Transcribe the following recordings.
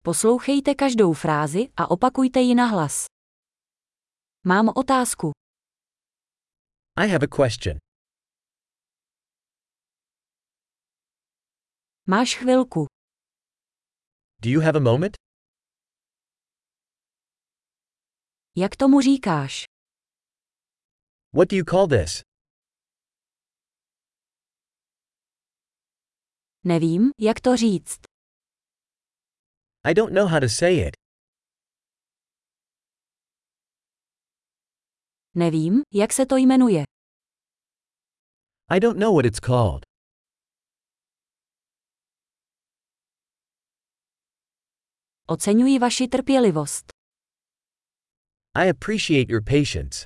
Poslouchejte každou frázi a opakujte ji nahlas. Mám otázku. I have a question. Máš chvilku. Do you have a moment? Jak tomu říkáš? What do you call this? Nevím, jak to říct. I don't know how to say it. Nevím, jak se to jmenuje. I don't know what it's called. Oceňuji vaši trpělivost. I appreciate your patience.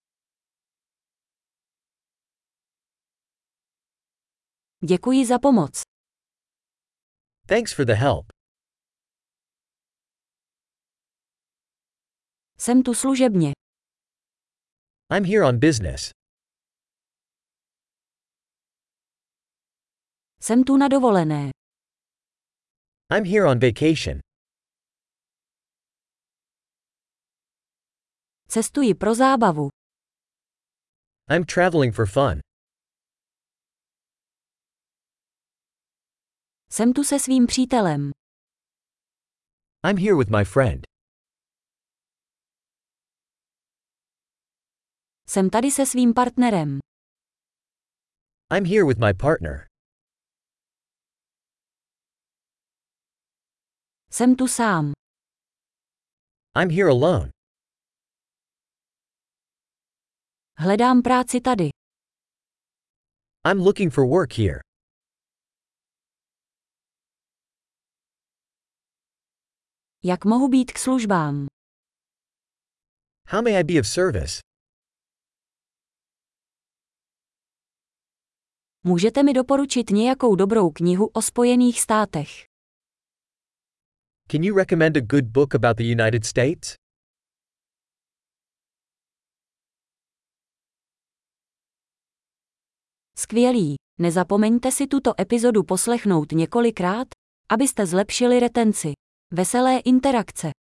Děkuji za pomoc. Thanks for the help. Jsem tu služebně. I'm here on business. Jsem tu na dovolené. I'm here on vacation. Cestuji pro zábavu. I'm traveling for fun. Jsem tu se svým přítelem. I'm here with my friend. Jsem tady se svým partnerem. I'm here with my partner. Jsem tu sám. I'm here alone. Hledám práci tady. I'm looking for work here. Jak mohu být k službám? How may I be of service? Můžete mi doporučit nějakou dobrou knihu o Spojených státech? Can you recommend a good book about the United States? Skvělý. Nezapomeňte si tuto epizodu poslechnout několikrát, abyste zlepšili retenci. Veselé interakce.